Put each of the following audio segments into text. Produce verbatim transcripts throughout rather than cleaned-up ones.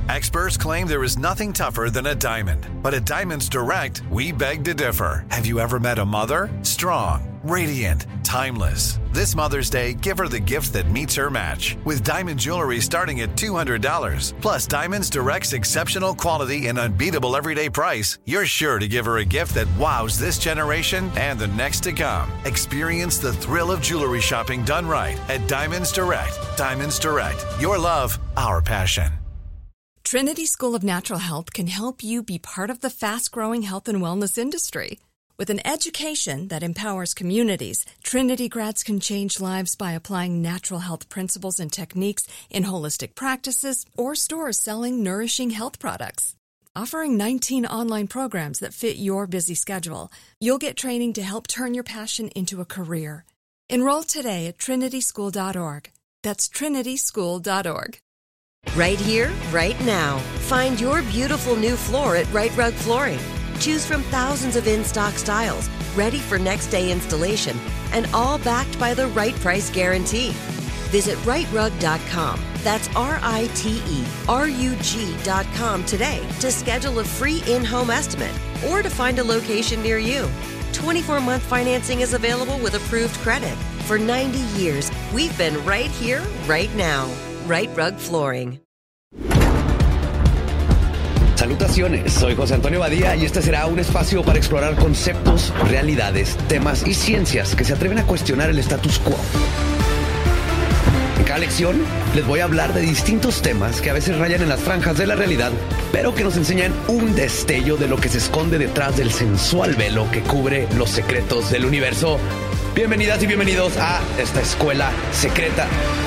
Experts claim there is nothing tougher than a diamond. But at Diamonds Direct, we beg to differ. Have you ever met a mother? Strong, radiant, timeless. This Mother's Day, give her the gift that meets her match. With diamond jewelry starting at two hundred dollars. Plus Diamonds Direct's exceptional quality and unbeatable everyday price, you're sure to give her a gift that wows this generation and the next to come. Experience the thrill of jewelry shopping done right at Diamonds Direct. Diamonds Direct. Your love, our passion. Trinity School of Natural Health can help you be part of the fast-growing health and wellness industry. With an education that empowers communities, Trinity grads can change lives by applying natural health principles and techniques in holistic practices or stores selling nourishing health products. Offering nineteen online programs that fit your busy schedule, you'll get training to help turn your passion into a career. Enroll today at trinity school dot org. That's trinity school dot org. Right here, right now. Find your beautiful new floor at Right Rug Flooring. Choose from thousands of in-stock styles, ready for next day installation, and all backed by the right price guarantee. Visit right rug dot com. That's R I T E R U G dot com today to schedule a free in-home estimate or to find a location near you. twenty-four month financing is available with approved credit. For ninety years, we've been right here, right now. Right Rug Flooring. Salutaciones, soy José Antonio Badía y este será un espacio para explorar conceptos, realidades, temas y ciencias que se atreven a cuestionar el status quo. En cada lección les voy a hablar de distintos temas que a veces rayan en las franjas de la realidad, pero que nos enseñan un destello de lo que se esconde detrás del sensual velo que cubre los secretos del universo. Bienvenidas y bienvenidos a esta escuela secreta.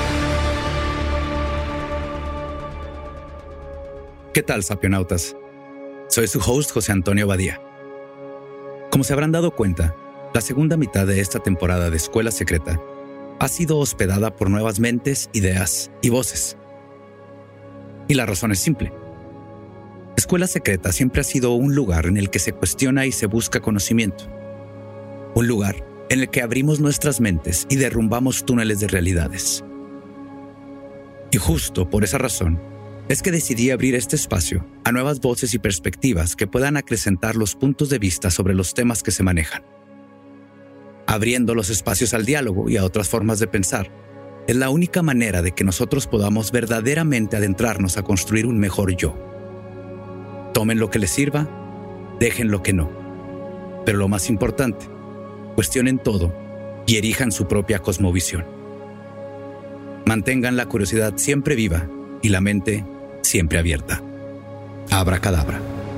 ¿Qué tal, sapionautas? Soy su host, José Antonio Badía. Como se habrán dado cuenta, la segunda mitad de esta temporada de Escuela Secreta ha sido hospedada por nuevas mentes, ideas y voces. Y la razón es simple. Escuela Secreta siempre ha sido un lugar en el que se cuestiona y se busca conocimiento. Un lugar en el que abrimos nuestras mentes y derrumbamos túneles de realidades. Y justo por esa razón, es que decidí abrir este espacio a nuevas voces y perspectivas que puedan acrecentar los puntos de vista sobre los temas que se manejan. Abriendo los espacios al diálogo y a otras formas de pensar, es la única manera de que nosotros podamos verdaderamente adentrarnos a construir un mejor yo. Tomen lo que les sirva, dejen lo que no. Pero lo más importante, cuestionen todo y erijan su propia cosmovisión. Mantengan la curiosidad siempre viva y la mente siempre abierta. Abracadabra.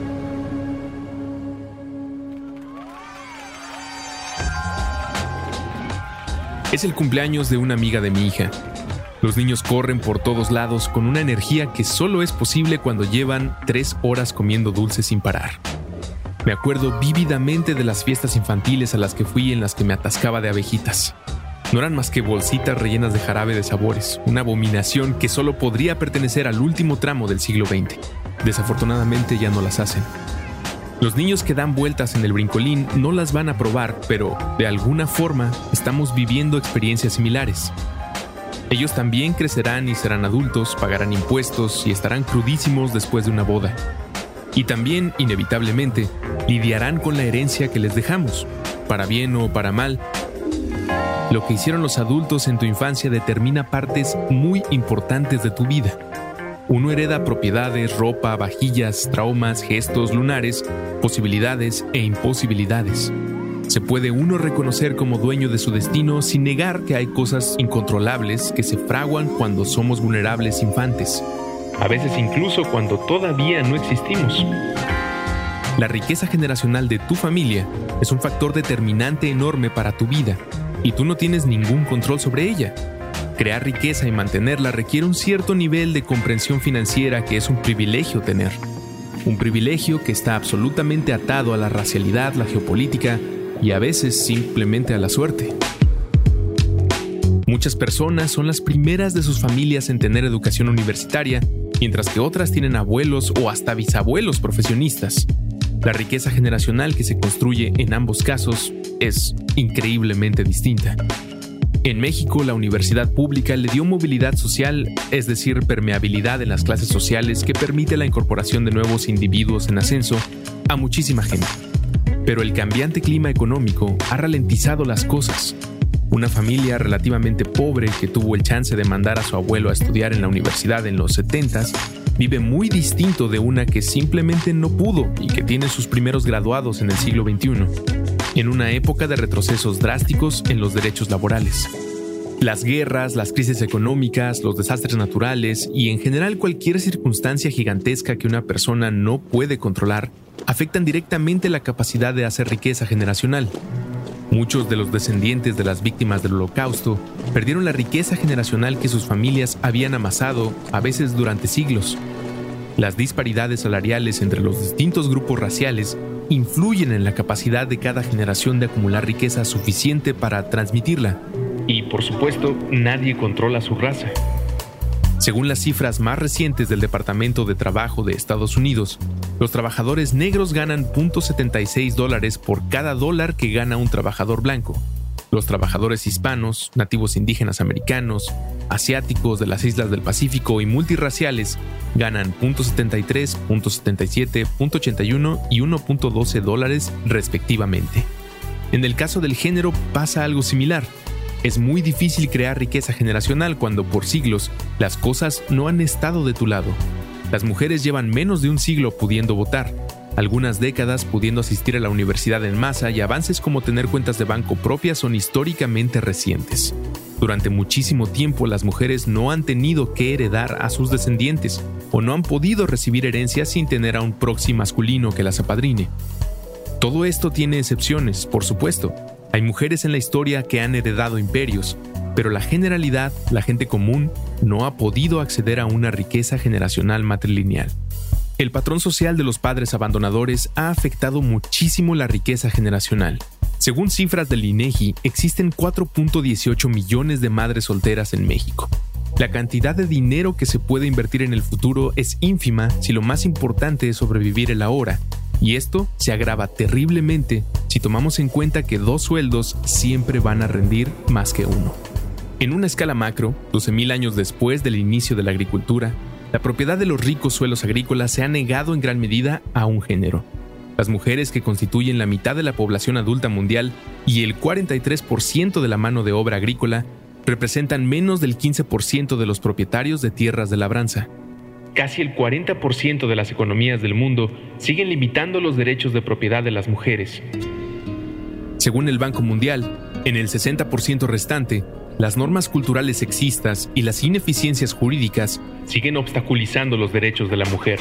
Es el cumpleaños de una amiga de mi hija. Los niños corren por todos lados con una energía que solo es posible cuando llevan tres horas comiendo dulces sin parar. Me acuerdo vívidamente de las fiestas infantiles a las que fui en las que me atascaba de abejitas. No eran más que bolsitas rellenas de jarabe de sabores, una abominación que solo podría pertenecer al último tramo del siglo veinte. Desafortunadamente ya no las hacen. Los niños que dan vueltas en el brincolín no las van a probar, pero de alguna forma estamos viviendo experiencias similares. Ellos también crecerán y serán adultos, pagarán impuestos y estarán crudísimos después de una boda. Y también, inevitablemente, lidiarán con la herencia que les dejamos, para bien o para mal. Lo que hicieron los adultos en tu infancia determina partes muy importantes de tu vida. Uno hereda propiedades, ropa, vajillas, traumas, gestos lunares, posibilidades e imposibilidades. Se puede uno reconocer como dueño de su destino sin negar que hay cosas incontrolables que se fraguan cuando somos vulnerables infantes. A veces incluso cuando todavía no existimos. La riqueza generacional de tu familia es un factor determinante enorme para tu vida. Y tú no tienes ningún control sobre ella. Crear riqueza y mantenerla requiere un cierto nivel de comprensión financiera que es un privilegio tener. Un privilegio que está absolutamente atado a la racialidad, la geopolítica y a veces simplemente a la suerte. Muchas personas son las primeras de sus familias en tener educación universitaria, mientras que otras tienen abuelos o hasta bisabuelos profesionistas. La riqueza generacional que se construye en ambos casos es increíblemente distinta. En México, la universidad pública le dio movilidad social, es decir, permeabilidad en las clases sociales que permite la incorporación de nuevos individuos en ascenso a muchísima gente. Pero el cambiante clima económico ha ralentizado las cosas. Una familia relativamente pobre que tuvo el chance de mandar a su abuelo a estudiar en la universidad en los setentas vive muy distinto de una que simplemente no pudo y que tiene sus primeros graduados en el siglo veintiuno, en una época de retrocesos drásticos en los derechos laborales. Las guerras, las crisis económicas, los desastres naturales y en general cualquier circunstancia gigantesca que una persona no puede controlar afectan directamente la capacidad de hacer riqueza generacional. Muchos de los descendientes de las víctimas del Holocausto perdieron la riqueza generacional que sus familias habían amasado, a veces durante siglos. Las disparidades salariales entre los distintos grupos raciales influyen en la capacidad de cada generación de acumular riqueza suficiente para transmitirla. Y, por supuesto, nadie controla su raza. Según las cifras más recientes del Departamento de Trabajo de Estados Unidos, los trabajadores negros ganan cero punto setenta y seis dólares por cada dólar que gana un trabajador blanco. Los trabajadores hispanos, nativos indígenas americanos, asiáticos de las islas del Pacífico y multirraciales ganan cero punto setenta y tres, cero punto setenta y siete, cero punto ochenta y uno y uno punto doce dólares respectivamente. En el caso del género pasa algo similar. Es muy difícil crear riqueza generacional cuando por siglos las cosas no han estado de tu lado. Las mujeres llevan menos de un siglo pudiendo votar, algunas décadas pudiendo asistir a la universidad en masa y avances como tener cuentas de banco propias son históricamente recientes. Durante muchísimo tiempo las mujeres no han tenido que heredar a sus descendientes o no han podido recibir herencias sin tener a un proxy masculino que las apadrine. Todo esto tiene excepciones, por supuesto. Hay mujeres en la historia que han heredado imperios, pero la generalidad, la gente común, no ha podido acceder a una riqueza generacional matrilineal. El patrón social de los padres abandonadores ha afectado muchísimo la riqueza generacional. Según cifras del INEGI, existen cuatro punto dieciocho millones de madres solteras en México. La cantidad de dinero que se puede invertir en el futuro es ínfima si lo más importante es sobrevivir el ahora. Y esto se agrava terriblemente si tomamos en cuenta que dos sueldos siempre van a rendir más que uno. En una escala macro, doce mil años después del inicio de la agricultura, la propiedad de los ricos suelos agrícolas se ha negado en gran medida a un género. Las mujeres, que constituyen la mitad de la población adulta mundial y el cuarenta y tres por ciento de la mano de obra agrícola, representan menos del quince por ciento de los propietarios de tierras de labranza. Casi el cuarenta por ciento de las economías del mundo siguen limitando los derechos de propiedad de las mujeres. Según el Banco Mundial, en el sesenta por ciento restante, las normas culturales sexistas y las ineficiencias jurídicas siguen obstaculizando los derechos de la mujer.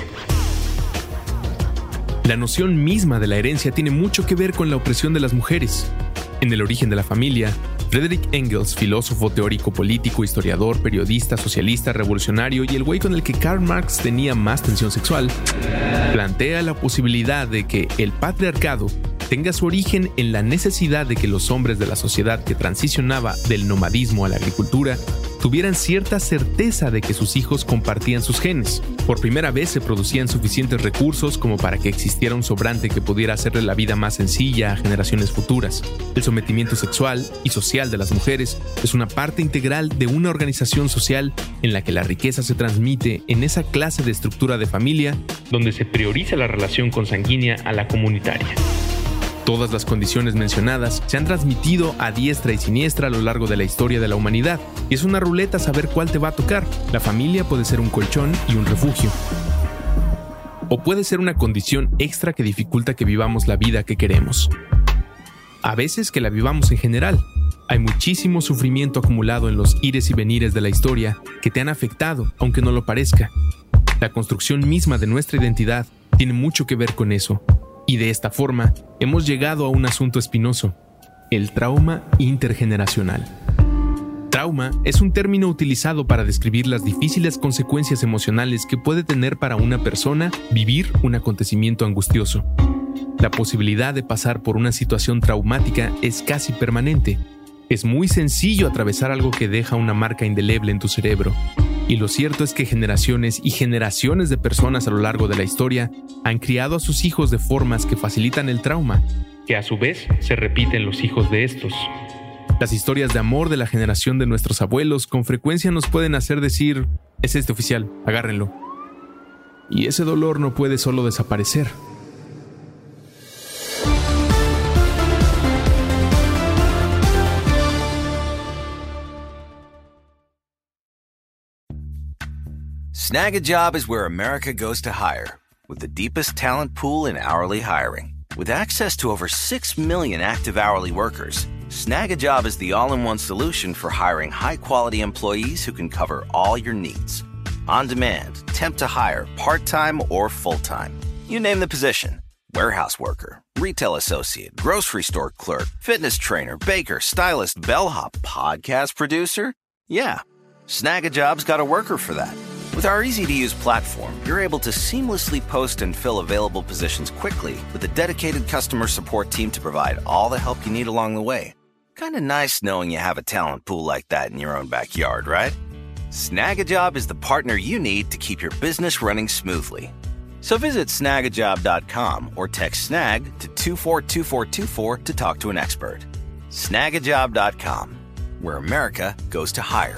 La noción misma de la herencia tiene mucho que ver con la opresión de las mujeres. En El origen de la familia, Friedrich Engels, filósofo, teórico, político, historiador, periodista, socialista, revolucionario y el güey con el que Karl Marx tenía más tensión sexual, plantea la posibilidad de que el patriarcado tenga su origen en la necesidad de que los hombres de la sociedad que transicionaba del nomadismo a la agricultura tuvieran cierta certeza de que sus hijos compartían sus genes. Por primera vez se producían suficientes recursos como para que existiera un sobrante que pudiera hacerle la vida más sencilla a generaciones futuras. El sometimiento sexual y social de las mujeres es una parte integral de una organización social en la que la riqueza se transmite en esa clase de estructura de familia donde se prioriza la relación consanguínea a la comunitaria. Todas las condiciones mencionadas se han transmitido a diestra y siniestra a lo largo de la historia de la humanidad, y es una ruleta saber cuál te va a tocar. La familia puede ser un colchón y un refugio. O puede ser una condición extra que dificulta que vivamos la vida que queremos. A veces que la vivamos en general. Hay muchísimo sufrimiento acumulado en los ires y venires de la historia que te han afectado, aunque no lo parezca. La construcción misma de nuestra identidad tiene mucho que ver con eso. Y de esta forma, hemos llegado a un asunto espinoso, el trauma intergeneracional. Trauma es un término utilizado para describir las difíciles consecuencias emocionales que puede tener para una persona vivir un acontecimiento angustioso. La posibilidad de pasar por una situación traumática es casi permanente. Es muy sencillo atravesar algo que deja una marca indeleble en tu cerebro. Y lo cierto es que generaciones y generaciones de personas a lo largo de la historia han criado a sus hijos de formas que facilitan el trauma, que a su vez se repiten los hijos de estos. Las historias de amor de la generación de nuestros abuelos con frecuencia nos pueden hacer decir, es este oficial, agárrenlo. Y ese dolor no puede solo desaparecer. Snag a Job is where America goes to hire, with the deepest talent pool in hourly hiring. With access to over six million active hourly workers, Snag a Job is the all-in-one solution for hiring high-quality employees who can cover all your needs. On demand, temp to hire, part-time or full-time. You name the position. Warehouse worker, retail associate, grocery store clerk, fitness trainer, baker, stylist, bellhop, podcast producer. Yeah, Snag a Job's got a worker for that. With our easy-to-use platform, you're able to seamlessly post and fill available positions quickly with a dedicated customer support team to provide all the help you need along the way. Kind of nice knowing you have a talent pool like that in your own backyard, right? Snag a Job is the partner you need to keep your business running smoothly. So visit snag a job dot com or text SNAG to two four two four two four to talk to an expert. snag a job dot com, where America goes to hire.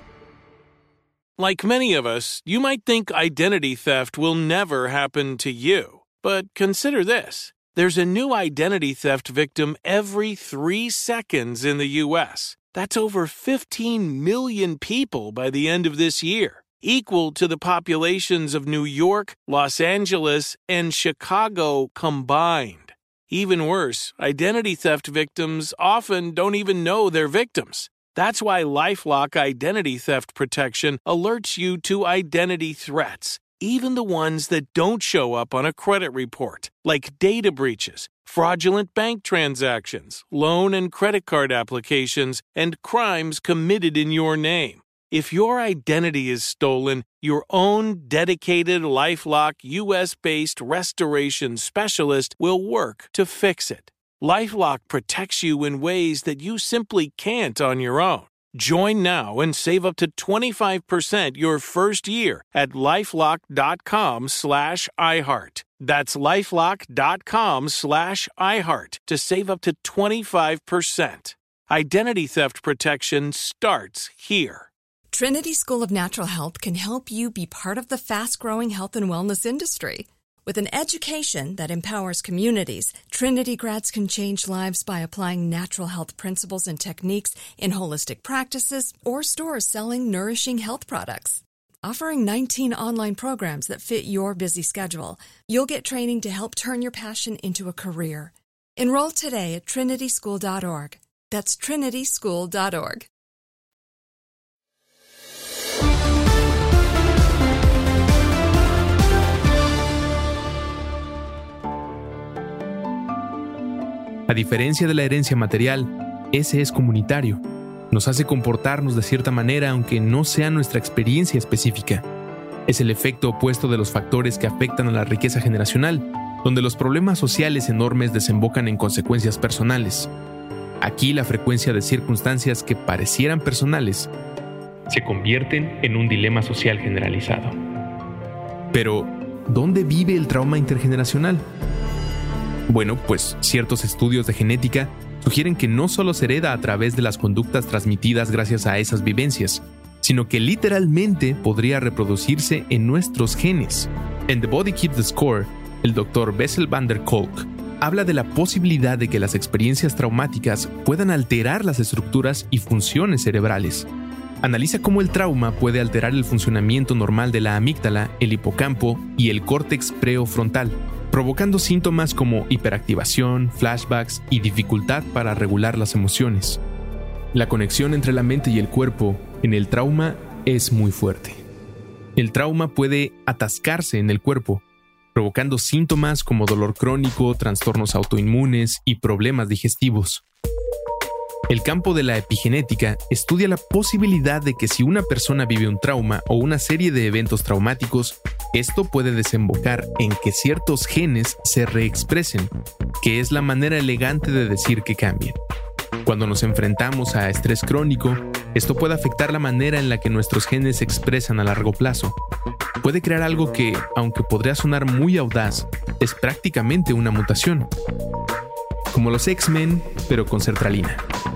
Like many of us, you might think identity theft will never happen to you. But consider this. There's a new identity theft victim every three seconds in the U S. That's over fifteen million people by the end of this year, equal to the populations of New York, Los Angeles, and Chicago combined. Even worse, identity theft victims often don't even know they're victims. That's why LifeLock Identity Theft Protection alerts you to identity threats, even the ones that don't show up on a credit report, like data breaches, fraudulent bank transactions, loan and credit card applications, and crimes committed in your name. If your identity is stolen, your own dedicated LifeLock U S-based restoration specialist will work to fix it. LifeLock protects you in ways that you simply can't on your own. Join now and save up to twenty-five percent your first year at lifelock.com slash iHeart. That's lifelock.com slash iHeart to save up to twenty-five percent. Identity theft protection starts here. Trinity School of Natural Health can help you be part of the fast-growing health and wellness industry. With an education that empowers communities, Trinity grads can change lives by applying natural health principles and techniques in holistic practices or stores selling nourishing health products. Offering nineteen online programs that fit your busy schedule, you'll get training to help turn your passion into a career. Enroll today at trinity school dot org. That's trinity school dot org. A diferencia de la herencia material, ese es comunitario. Nos hace comportarnos de cierta manera aunque no sea nuestra experiencia específica. Es el efecto opuesto de los factores que afectan a la riqueza generacional, donde los problemas sociales enormes desembocan en consecuencias personales. Aquí la frecuencia de circunstancias que parecieran personales se convierten en un dilema social generalizado. Pero, ¿dónde vive el trauma intergeneracional? Bueno, pues ciertos estudios de genética sugieren que no solo se hereda a través de las conductas transmitidas gracias a esas vivencias, sino que literalmente podría reproducirse en nuestros genes. En The Body Keeps the Score, el doctor Bessel van der Kolk habla de la posibilidad de que las experiencias traumáticas puedan alterar las estructuras y funciones cerebrales. Analiza cómo el trauma puede alterar el funcionamiento normal de la amígdala, el hipocampo y el córtex prefrontal, provocando síntomas como hiperactivación, flashbacks y dificultad para regular las emociones. La conexión entre la mente y el cuerpo en el trauma es muy fuerte. El trauma puede atascarse en el cuerpo, provocando síntomas como dolor crónico, trastornos autoinmunes y problemas digestivos. El campo de la epigenética estudia la posibilidad de que si una persona vive un trauma o una serie de eventos traumáticos, esto puede desembocar en que ciertos genes se reexpresen, que es la manera elegante de decir que cambien. Cuando nos enfrentamos a estrés crónico, esto puede afectar la manera en la que nuestros genes se expresan a largo plazo. Puede crear algo que, aunque podría sonar muy audaz, es prácticamente una mutación. Como los X-Men, pero con sertralina.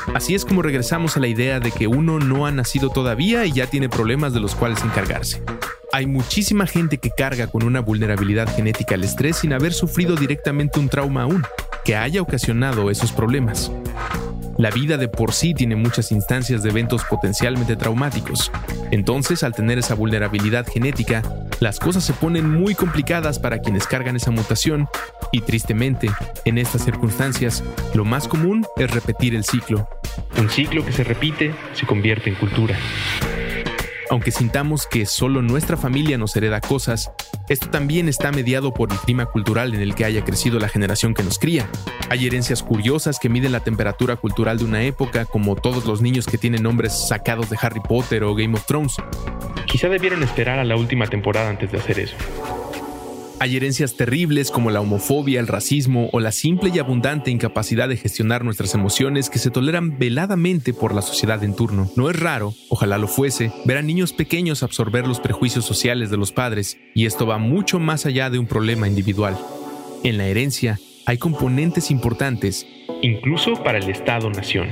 Así es como regresamos a la idea de que uno no ha nacido todavía y ya tiene problemas de los cuales encargarse. Hay muchísima gente que carga con una vulnerabilidad genética al estrés sin haber sufrido directamente un trauma aún, que haya ocasionado esos problemas. La vida de por sí tiene muchas instancias de eventos potencialmente traumáticos. Entonces, al tener esa vulnerabilidad genética, las cosas se ponen muy complicadas para quienes cargan esa mutación y, tristemente, en estas circunstancias, lo más común es repetir el ciclo. Un ciclo que se repite se convierte en cultura. Aunque sintamos que solo nuestra familia nos hereda cosas, esto también está mediado por el clima cultural en el que haya crecido la generación que nos cría. Hay herencias curiosas que miden la temperatura cultural de una época, como todos los niños que tienen nombres sacados de Harry Potter o Game of Thrones. Quizá debieran esperar a la última temporada antes de hacer eso. Hay herencias terribles como la homofobia, el racismo o la simple y abundante incapacidad de gestionar nuestras emociones que se toleran veladamente por la sociedad en turno. No es raro, ojalá lo fuese, ver a niños pequeños absorber los prejuicios sociales de los padres, y esto va mucho más allá de un problema individual. En la herencia hay componentes importantes, incluso para el Estado-nación.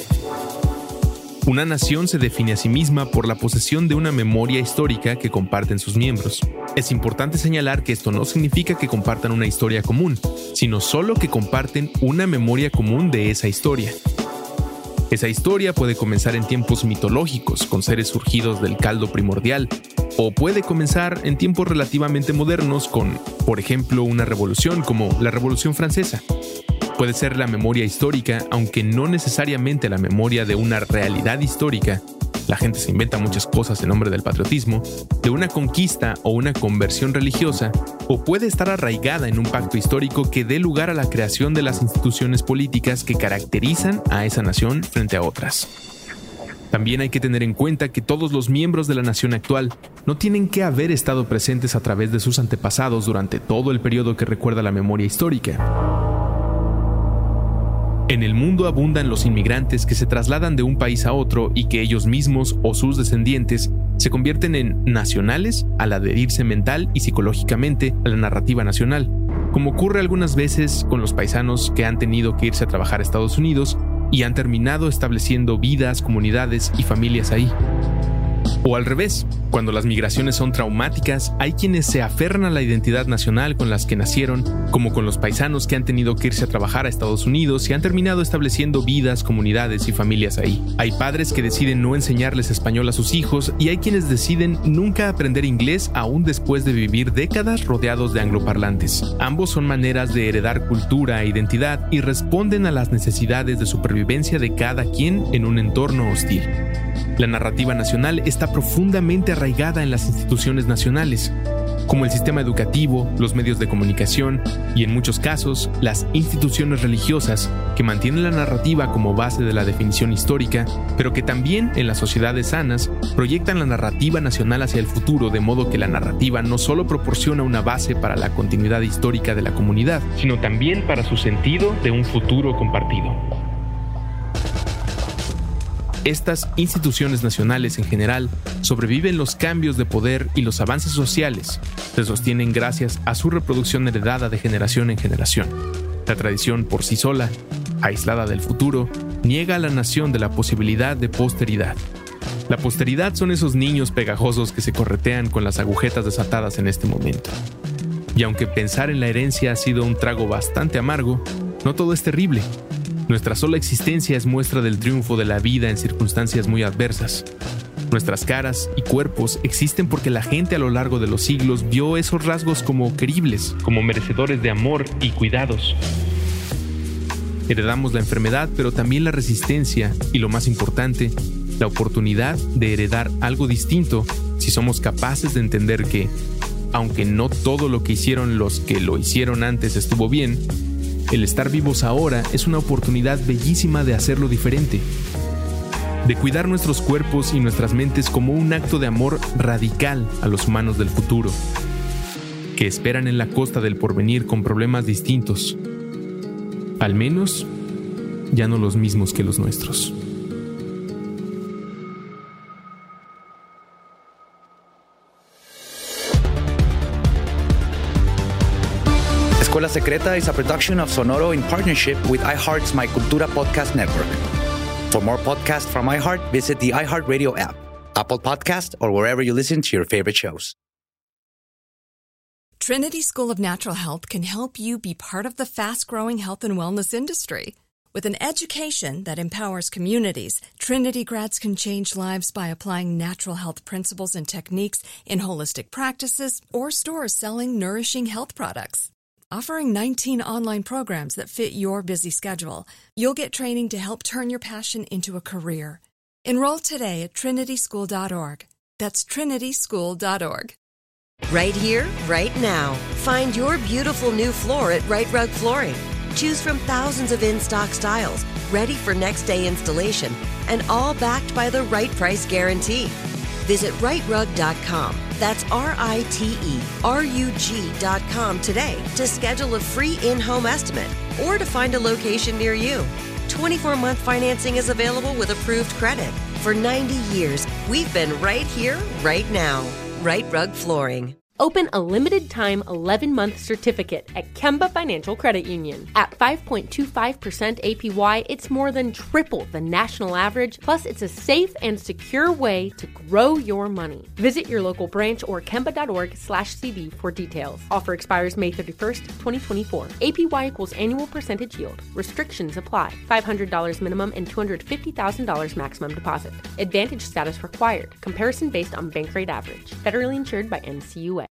Una nación se define a sí misma por la posesión de una memoria histórica que comparten sus miembros. Es importante señalar que esto no significa que compartan una historia común, sino solo que comparten una memoria común de esa historia. Esa historia puede comenzar en tiempos mitológicos, con seres surgidos del caldo primordial, o puede comenzar en tiempos relativamente modernos con, por ejemplo, una revolución como la Revolución Francesa. Puede ser la memoria histórica, aunque no necesariamente la memoria de una realidad histórica. La gente se inventa muchas cosas en nombre del patriotismo, de una conquista o una conversión religiosa, o puede estar arraigada en un pacto histórico que dé lugar a la creación de las instituciones políticas que caracterizan a esa nación frente a otras. También hay que tener en cuenta que todos los miembros de la nación actual no tienen que haber estado presentes a través de sus antepasados durante todo el periodo que recuerda la memoria histórica. En el mundo abundan los inmigrantes que se trasladan de un país a otro y que ellos mismos o sus descendientes se convierten en nacionales al adherirse mental y psicológicamente a la narrativa nacional, como ocurre algunas veces con los paisanos que han tenido que irse a trabajar a Estados Unidos y han terminado estableciendo vidas, comunidades y familias ahí. O al revés, cuando las migraciones son traumáticas, hay quienes se aferran a la identidad nacional con las que nacieron, como con los paisanos que han tenido que irse a trabajar a Estados Unidos y han terminado estableciendo vidas, comunidades y familias ahí. Hay padres que deciden no enseñarles español a sus hijos y hay quienes deciden nunca aprender inglés aún después de vivir décadas rodeados de angloparlantes. Ambos son maneras de heredar cultura e identidad y responden a las necesidades de supervivencia de cada quien en un entorno hostil. La narrativa nacional está profundamente arraigada en las instituciones nacionales, como el sistema educativo, los medios de comunicación y, en muchos casos, las instituciones religiosas, que mantienen la narrativa como base de la definición histórica, pero que también, en las sociedades sanas, proyectan la narrativa nacional hacia el futuro, de modo que la narrativa no solo proporciona una base para la continuidad histórica de la comunidad, sino también para su sentido de un futuro compartido. Estas instituciones nacionales en general sobreviven los cambios de poder y los avances sociales. Se sostienen gracias a su reproducción heredada de generación en generación. La tradición por sí sola, aislada del futuro, niega a la nación de la posibilidad de posteridad. La posteridad son esos niños pegajosos que se corretean con las agujetas desatadas en este momento. Y aunque pensar en la herencia ha sido un trago bastante amargo, no todo es terrible. Nuestra sola existencia es muestra del triunfo de la vida en circunstancias muy adversas. Nuestras caras y cuerpos existen porque la gente a lo largo de los siglos vio esos rasgos como queribles, como merecedores de amor y cuidados. Heredamos la enfermedad, pero también la resistencia y, lo más importante, la oportunidad de heredar algo distinto si somos capaces de entender que, aunque no todo lo que hicieron los que lo hicieron antes estuvo bien, el estar vivos ahora es una oportunidad bellísima de hacerlo diferente, de cuidar nuestros cuerpos y nuestras mentes como un acto de amor radical a los humanos del futuro, que esperan en la costa del porvenir con problemas distintos, al menos ya no los mismos que los nuestros. Escuela Secreta is a production of Sonoro in partnership with iHeart's My Cultura podcast network. For more podcasts from iHeart, visit the iHeartRadio app, Apple Podcast, or wherever you listen to your favorite shows. Trinity School of Natural Health can help you be part of the fast-growing health and wellness industry. With an education that empowers communities, Trinity grads can change lives by applying natural health principles and techniques in holistic practices or stores selling nourishing health products. Offering nineteen online programs that fit your busy schedule, you'll get training to help turn your passion into a career. Enroll today at trinity school dot org. That's trinity school dot org. Right here, right now. Find your beautiful new floor at Right Rug Flooring. Choose from thousands of in-stock styles, ready for next day installation, and all backed by the right price guarantee. Visit right rug dot com. That's R I T E R U G dot com today to schedule a free in-home estimate or to find a location near you. twenty-four month financing is available with approved credit. For ninety years, we've been right here, right now. Right Rug Flooring. Open a limited-time eleven-month certificate at Kemba Financial Credit Union. At five point two five percent A P Y, it's more than triple the national average, plus it's a safe and secure way to grow your money. Visit your local branch or kemba dot org slash C B for details. Offer expires May thirty-first, twenty twenty-four. A P Y equals annual percentage yield. Restrictions apply. five hundred dollars minimum and two hundred fifty thousand dollars maximum deposit. Advantage status required. Comparison based on bank rate average. Federally insured by N C U A.